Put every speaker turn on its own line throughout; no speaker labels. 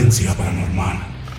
Frecuencia Paranormal.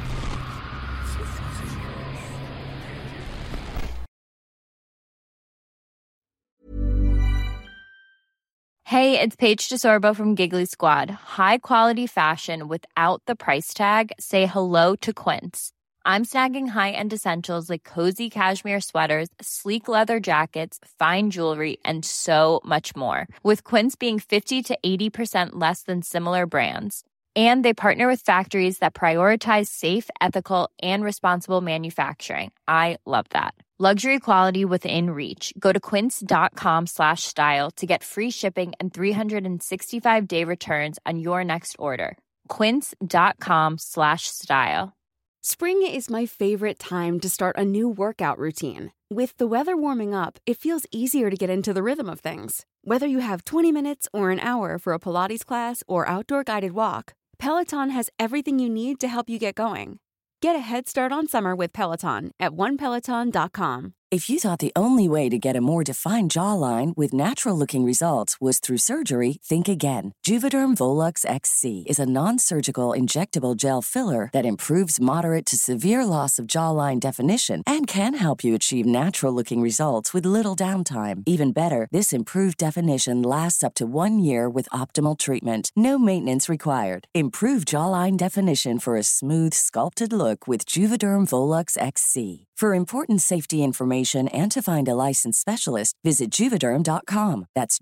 Hey, it's Paige DeSorbo from Giggly Squad. High quality fashion without the price tag. Say hello to Quince. I'm snagging high-end essentials like cozy cashmere sweaters, sleek leather jackets, fine jewelry, and so much more. With Quince being 50 to 80% less than similar brands. And they partner with factories that prioritize safe, ethical, and responsible manufacturing. I love that. Luxury quality within reach. Go to quince.com/style to get free shipping and 365-day returns on your next order. Quince.com/style.
Spring is my favorite time to start a new workout routine. With the weather warming up, it feels easier to get into the rhythm of things. Whether you have 20 minutes or an hour for a Pilates class or outdoor guided walk, Peloton has everything you need to help you get going. Get a head start on summer with Peloton at onepeloton.com.
If you thought the only way to get a more defined jawline with natural-looking results was through surgery, think again. Juvederm Volux XC is a non-surgical injectable gel filler that improves moderate to severe loss of jawline definition and can help you achieve natural-looking results with little downtime. Even better, this improved definition lasts up to 1 year with optimal treatment. No maintenance required. Improve jawline definition for a smooth, sculpted look with Juvederm Volux XC. For important safety information and to find a licensed specialist, visit Juvederm.com. That's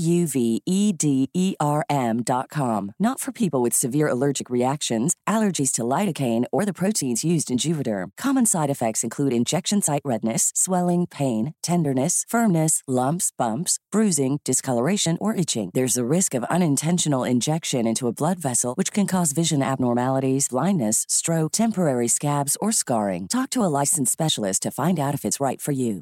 JUVEDERM.com. Not for people with severe allergic reactions, allergies to lidocaine, or the proteins used in Juvederm. Common side effects include injection site redness, swelling, pain, tenderness, firmness, lumps, bumps, bruising, discoloration, or itching. There's a risk of unintentional injection into a blood vessel, which can cause vision abnormalities, blindness, stroke, temporary scabs, or scarring. Talk to a licensed specialist to find out if it's right for you.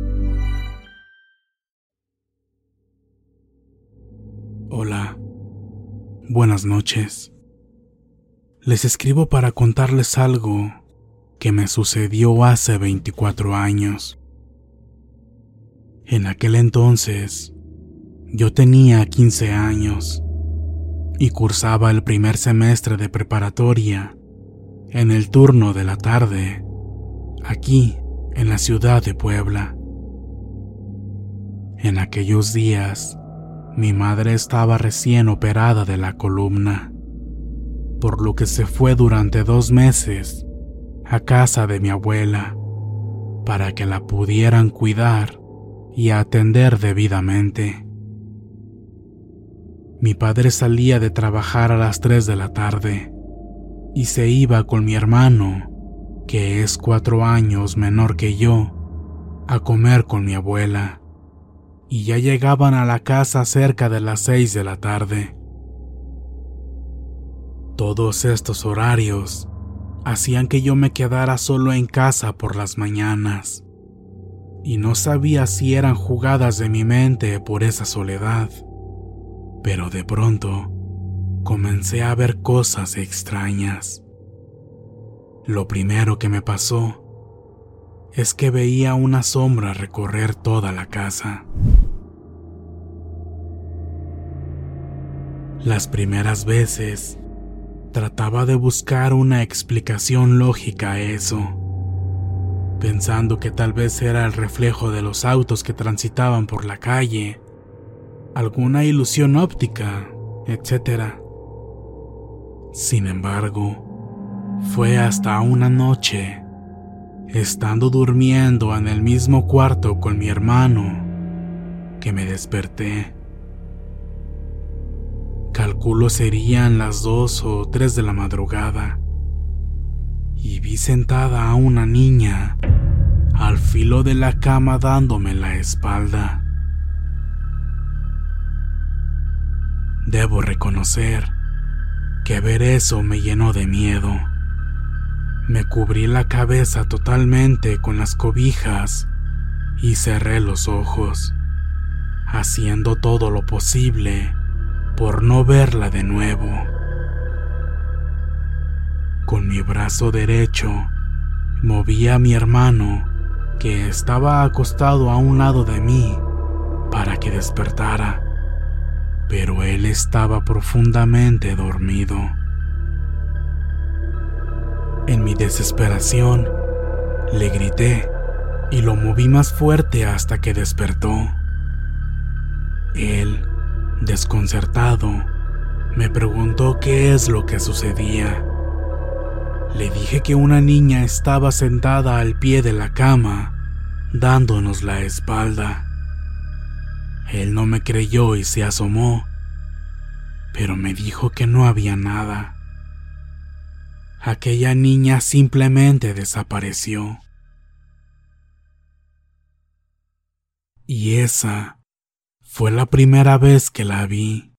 Hola, buenas noches. Les escribo para contarles algo que me sucedió hace 24 años. En aquel entonces, yo tenía 15 años y cursaba el primer semestre de preparatoria en el turno de la tarde, aquí en la ciudad de Puebla. En aquellos días, mi madre estaba recién operada de la columna, por lo que se fue durante 2 meses a casa de mi abuela para que la pudieran cuidar y atender debidamente. Mi padre salía de trabajar a las 3 de la tarde y se iba con mi hermano, que es 4 años menor que yo, a comer con mi abuela, y ya llegaban a la casa cerca de las 6 de la tarde. Todos estos horarios hacían que yo me quedara solo en casa por las mañanas, y no sabía si eran jugadas de mi mente por esa soledad, pero de pronto comencé a ver cosas extrañas. Lo primero que me pasó es que veía una sombra recorrer toda la casa. Las primeras veces trataba de buscar una explicación lógica a eso, pensando que tal vez era el reflejo de los autos que transitaban por la calle, alguna ilusión óptica, etc. Sin embargo, fue hasta una noche, estando durmiendo en el mismo cuarto con mi hermano, que me desperté. Calculo serían las 2 o 3 de la madrugada, y vi sentada a una niña al filo de la cama dándome la espalda. Debo reconocer que ver eso me llenó de miedo. Me cubrí la cabeza totalmente con las cobijas y cerré los ojos, haciendo todo lo posible por no verla de nuevo. Con mi brazo derecho moví a mi hermano, que estaba acostado a un lado de mí, para que despertara, pero él estaba profundamente dormido. En mi desesperación, le grité y lo moví más fuerte hasta que despertó. Él, desconcertado, me preguntó qué es lo que sucedía. Le dije que una niña estaba sentada al pie de la cama, dándonos la espalda. Él no me creyó y se asomó, pero me dijo que no había nada. Aquella niña simplemente desapareció. Y esa fue la primera vez que la vi.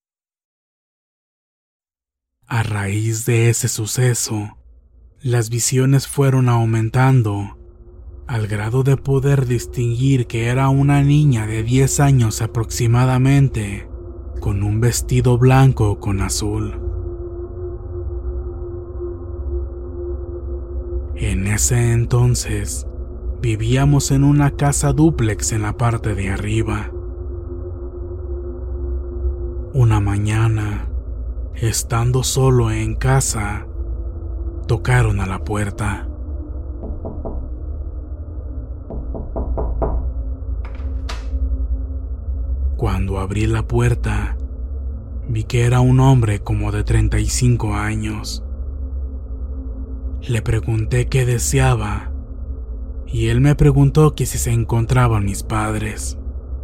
A raíz de ese suceso, las visiones fueron aumentando, al grado de poder distinguir que era una niña de 10 años aproximadamente, con un vestido blanco con azul. En ese entonces, vivíamos en una casa dúplex en la parte de arriba. Una mañana, estando solo en casa, tocaron a la puerta. Cuando abrí la puerta, vi que era un hombre como de 35 años. Le pregunté qué deseaba, y él me preguntó que si se encontraban mis padres.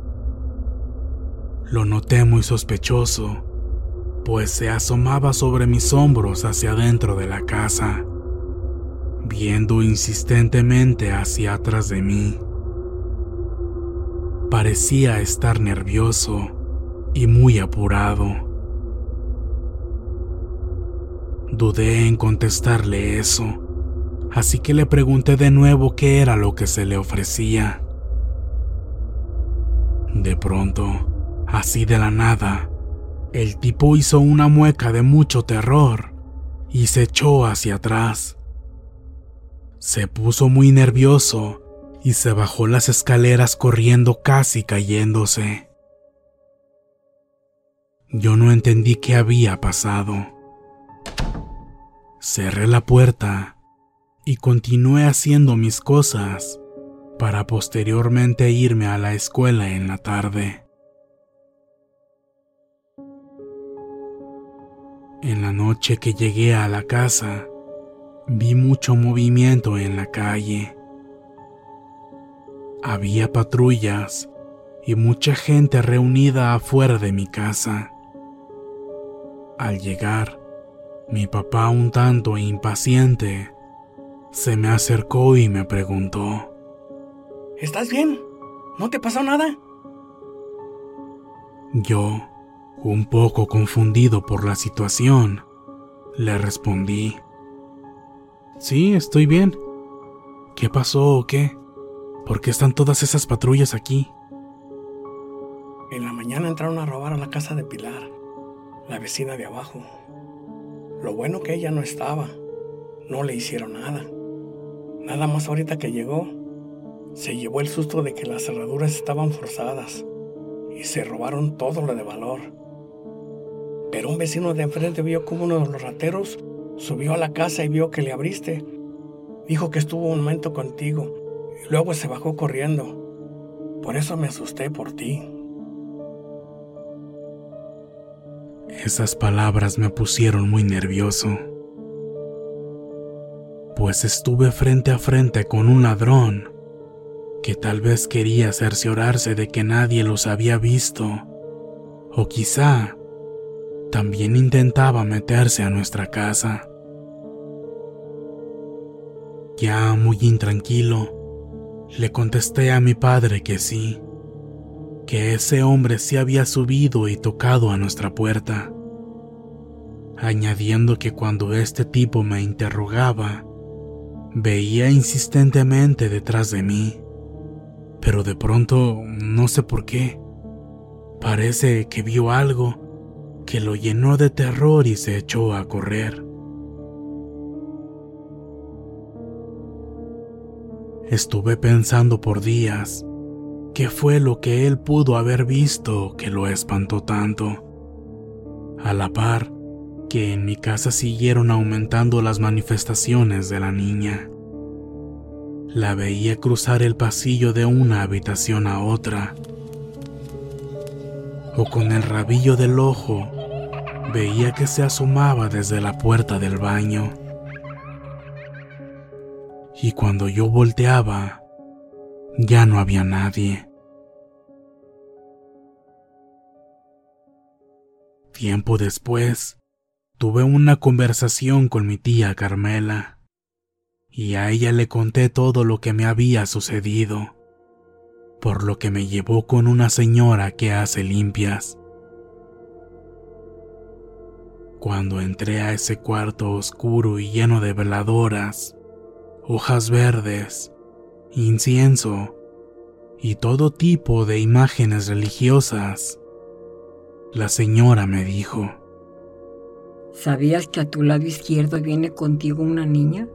Lo noté muy sospechoso, pues se asomaba sobre mis hombros hacia adentro de la casa, viendo insistentemente hacia atrás de mí. Parecía estar nervioso y muy apurado. Dudé en contestarle eso, así que le pregunté de nuevo qué era lo que se le ofrecía. De pronto, así de la nada, el tipo hizo una mueca de mucho terror y se echó hacia atrás. Se puso muy nervioso y se bajó las escaleras corriendo, casi cayéndose. Yo no entendí qué había pasado. Cerré la puerta y continué haciendo mis cosas para posteriormente irme a la escuela en la tarde. En la noche que llegué a la casa, vi mucho movimiento en la calle. Había patrullas y mucha gente reunida afuera de mi casa. Al llegar, mi papá, un tanto impaciente, se me acercó y me preguntó:
¿Estás bien? ¿No te pasó nada?
Yo, un poco confundido por la situación, le respondí: Sí, estoy bien. ¿Qué pasó o qué? ¿Por qué están todas esas patrullas aquí?
En la mañana entraron a robar a la casa de Pilar, la vecina de abajo. Lo bueno que ella no estaba, no le hicieron nada. Nada más ahorita que llegó, se llevó el susto de que las cerraduras estaban forzadas y se robaron todo lo de valor. Pero un vecino de enfrente vio como uno de los rateros subió a la casa y vio que le abriste. Dijo que estuvo un momento contigo y luego se bajó corriendo. Por eso me asusté por ti.
Esas palabras me pusieron muy nervioso, pues estuve frente a frente con un ladrón que tal vez quería cerciorarse de que nadie los había visto, o quizá también intentaba meterse a nuestra casa. Ya muy intranquilo, le contesté a mi padre que sí, que ese hombre sí había subido y tocado a nuestra puerta, añadiendo que cuando este tipo me interrogaba, veía insistentemente detrás de mí, pero de pronto, no sé por qué, parece que vio algo que lo llenó de terror y se echó a correr. Estuve pensando por días qué fue lo que él pudo haber visto que lo espantó tanto. A la par, que en mi casa siguieron aumentando las manifestaciones de la niña. La veía cruzar el pasillo de una habitación a otra, o con el rabillo del ojo veía que se asomaba desde la puerta del baño. Y cuando yo volteaba, ya no había nadie. Tiempo después, tuve una conversación con mi tía Carmela, y a ella le conté todo lo que me había sucedido, por lo que me llevó con una señora que hace limpias. Cuando entré a ese cuarto oscuro y lleno de veladoras, hojas verdes, incienso y todo tipo de imágenes religiosas, la señora me dijo:
¿Sabías que a tu lado izquierdo viene contigo una niña?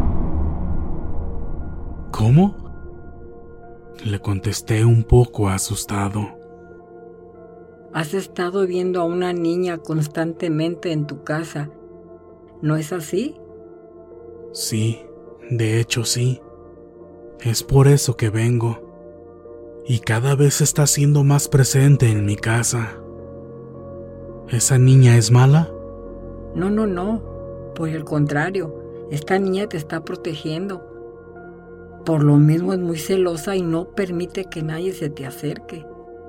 ¿Cómo? Le contesté un poco asustado.
Has estado viendo a una niña constantemente en tu casa, ¿no es así?
Sí, de hecho sí. Es por eso que vengo. Y cada vez está siendo más presente en mi casa. ¿Esa niña es mala?
No. Por el contrario, esta niña te está protegiendo. Por lo mismo es muy celosa y no permite que nadie se te acerque.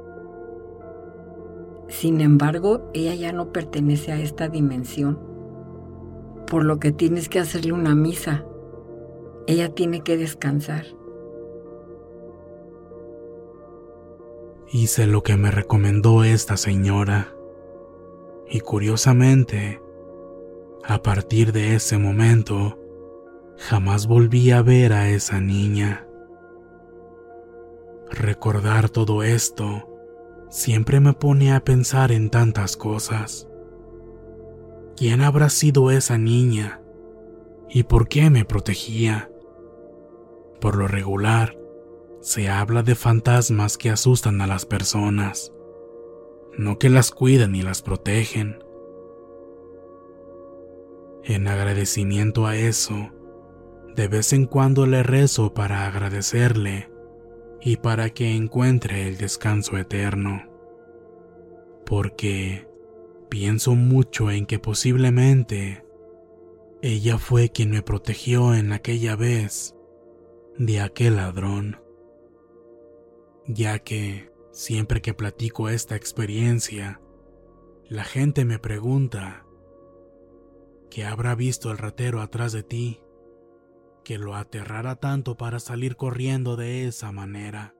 Sin embargo, ella ya no pertenece a esta dimensión, por lo que tienes que hacerle una misa. Ella tiene que descansar.
Hice lo que me recomendó esta señora, y curiosamente, a partir de ese momento, jamás volví a ver a esa niña. Recordar todo esto siempre me pone a pensar en tantas cosas. ¿Quién habrá sido esa niña? ¿Y por qué me protegía? Por lo regular, se habla de fantasmas que asustan a las personas, no que las cuidan y las protegen. En agradecimiento a eso, de vez en cuando le rezo para agradecerle y para que encuentre el descanso eterno, porque pienso mucho en que posiblemente ella fue quien me protegió en aquella vez de aquel ladrón, ya que siempre que platico esta experiencia, la gente me pregunta: ¿qué habrá visto el ratero atrás de ti que lo aterrara tanto para salir corriendo de esa manera?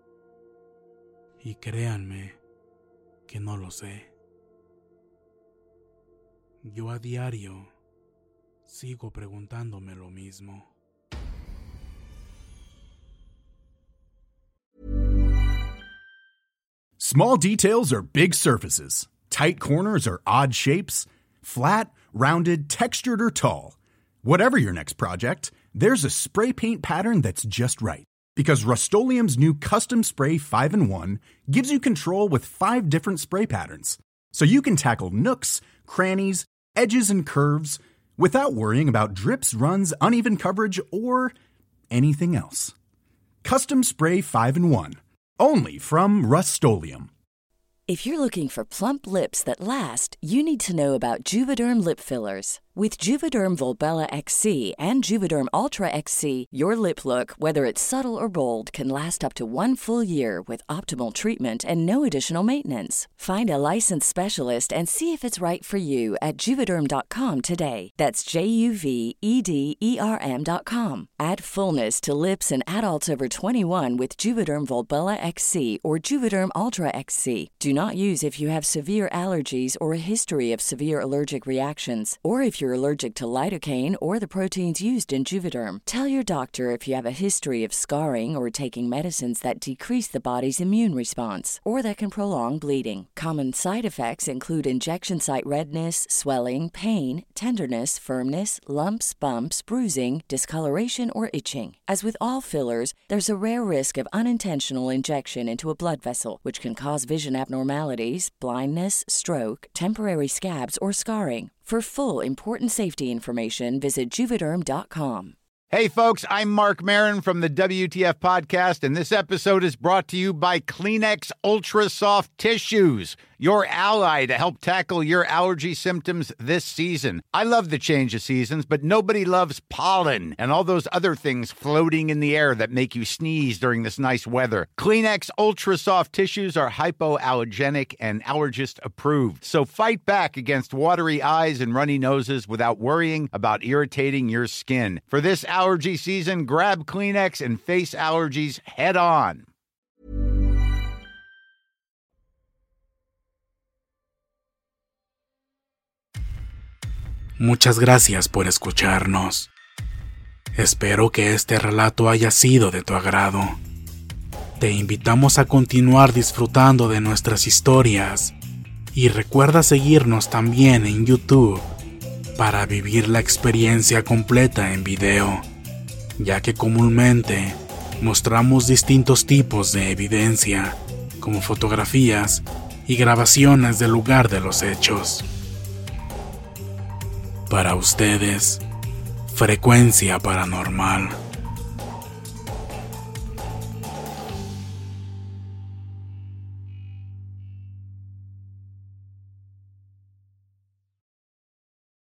Y créanme que no lo sé. Yo a diario sigo preguntándome lo mismo.
Small details are big surfaces. Tight corners are odd shapes. Flat, rounded, textured, or tall. Whatever your next project, there's a spray paint pattern that's just right. Because Rust-Oleum's new Custom Spray 5-in-1 gives you control with 5 different spray patterns. So you can tackle nooks, crannies, edges, and curves without worrying about drips, runs, uneven coverage, or anything else. Custom Spray 5-in-1. Only from Rust-Oleum.
If you're looking for plump lips that last, you need to know about Juvederm lip fillers. With Juvederm Volbella XC and Juvederm Ultra XC, your lip look, whether it's subtle or bold, can last up to 1 full year with optimal treatment and no additional maintenance. Find a licensed specialist and see if it's right for you at Juvederm.com today. That's JUVEDERM.com. Add fullness to lips in adults over 21 with Juvederm Volbella XC or Juvederm Ultra XC. Do not use if you have severe allergies or a history of severe allergic reactions, or if you're allergic to lidocaine or the proteins used in Juvederm. Tell your doctor if you have a history of scarring or taking medicines that decrease the body's immune response or that can prolong bleeding. Common side effects include injection site redness, swelling, pain, tenderness, firmness, lumps, bumps, bruising, discoloration, or itching. As with all fillers, there's a rare risk of unintentional injection into a blood vessel, which can cause vision abnormalities, blindness, stroke, temporary scabs, or scarring. For full, important safety information, visit Juvederm.com.
Hey, folks, I'm Mark Maron from the WTF Podcast, and this episode is brought to you by Kleenex Ultra Soft Tissues, your ally to help tackle your allergy symptoms this season. I love the change of seasons, but nobody loves pollen and all those other things floating in the air that make you sneeze during this nice weather. Kleenex Ultra Soft Tissues are hypoallergenic and allergist approved, so fight back against watery eyes and runny noses without worrying about irritating your skin. For this allergy season, grab Kleenex and face allergies head on.
Muchas gracias por escucharnos. Espero que este relato haya sido de tu agrado. Te invitamos a continuar disfrutando de nuestras historias y recuerda seguirnos también en YouTube para vivir la experiencia completa en video, ya que comúnmente mostramos distintos tipos de evidencia, como fotografías y grabaciones del lugar de los hechos. Para ustedes, Frecuencia Paranormal.